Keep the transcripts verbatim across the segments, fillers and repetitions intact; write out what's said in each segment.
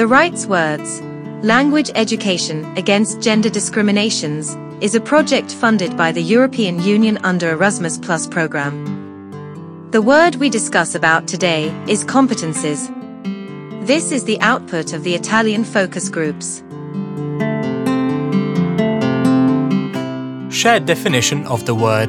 The Rights Words, Language Education Against Gender Discriminations, is a project funded by the European Union under Erasmus Plus program. The word we discuss about today is competences. This is the output of the Italian focus groups. Shared definition of the word.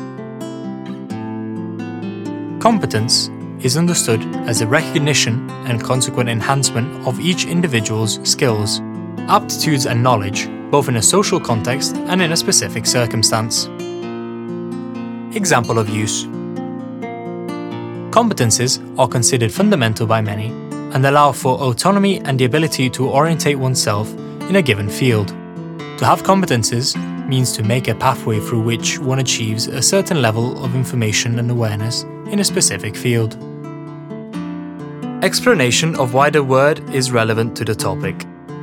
Competence is understood as a recognition and consequent enhancement of each individual's skills, aptitudes and knowledge, both in a social context and in a specific circumstance. Example of use. Competences are considered fundamental by many and allow for autonomy and the ability to orientate oneself in a given field. To have competences means to make a pathway through which one achieves a certain level of information and awareness in a specific field. Explanation of why the word is relevant to the topic.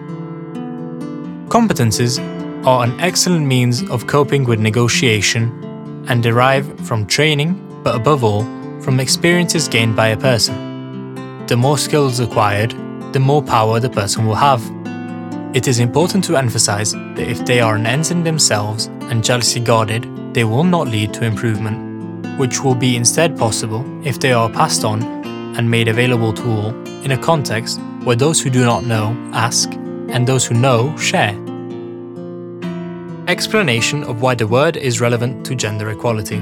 Competences are an excellent means of coping with negotiation and derive from training, but above all, from experiences gained by a person. The more skills acquired, the more power the person will have. It is important to emphasize that if they are an end in themselves and jealously guarded, they will not lead to improvement, which will be instead possible if they are passed on and made available to all in a context where those who do not know ask and those who know share. Explanation of why the word is relevant to gender equality.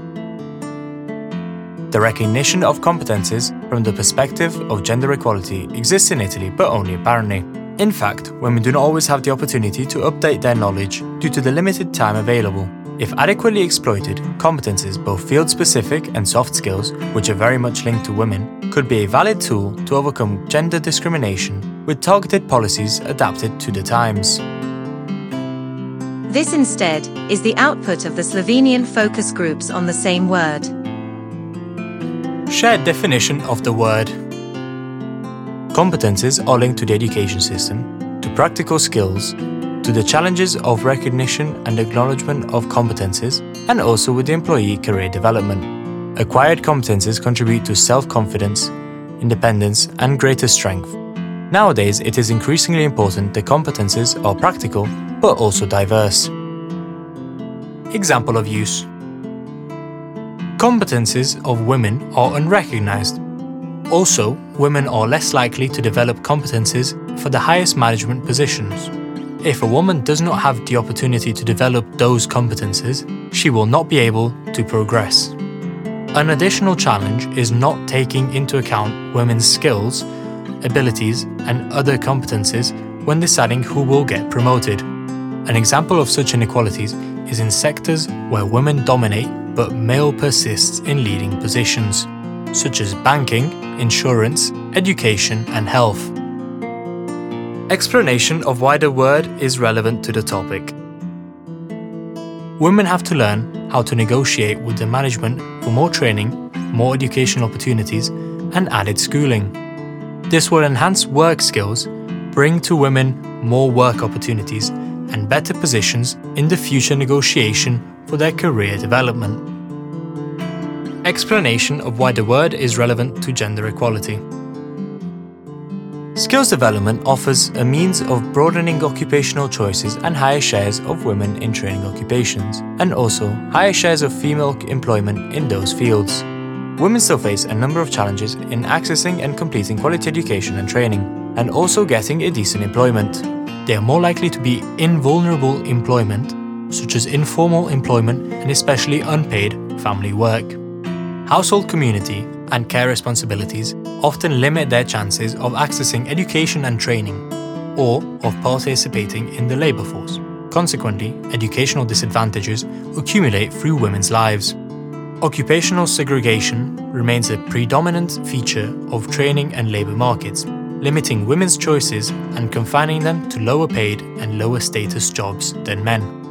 The recognition of competences from the perspective of gender equality exists in Italy, but only apparently. In fact, women do not always have the opportunity to update their knowledge due to the limited time available. If adequately exploited, competences, both field-specific and soft skills, which are very much linked to women, could be a valid tool to overcome gender discrimination with targeted policies adapted to the times. This instead is the output of the Slovenian focus groups on the same word. Shared definition of the word. Competences are linked to the education system, to practical skills, to the challenges of recognition and acknowledgement of competences, and also with the employee career development. Acquired competences contribute to self-confidence, independence, and greater strength. Nowadays, it is increasingly important that competences are practical, but also diverse. Example of use. Competences of women are unrecognized. Also, women are less likely to develop competences for the highest management positions. If a woman does not have the opportunity to develop those competences, she will not be able to progress. An additional challenge is not taking into account women's skills, abilities, and other competences when deciding who will get promoted. An example of such inequalities is in sectors where women dominate but male persists in leading positions, such as banking, insurance, education, and health. Explanation of why the word is relevant to the topic. Women have to learn how to negotiate with the management for more training, more educational opportunities, and added schooling. This will enhance work skills, bring to women more work opportunities, and better positions in the future negotiation for their career development. Explanation of why the word is relevant to gender equality. Skills development offers a means of broadening occupational choices and higher shares of women in training occupations, and also higher shares of female employment in those fields. Women still face a number of challenges in accessing and completing quality education and training, and also getting a decent employment. They are more likely to be in vulnerable employment, such as informal employment and especially unpaid family work. Household community and care responsibilities often limit their chances of accessing education and training, or of participating in the labour force. Consequently, educational disadvantages accumulate through women's lives. Occupational segregation remains a predominant feature of training and labour markets, limiting women's choices and confining them to lower paid and lower status jobs than men.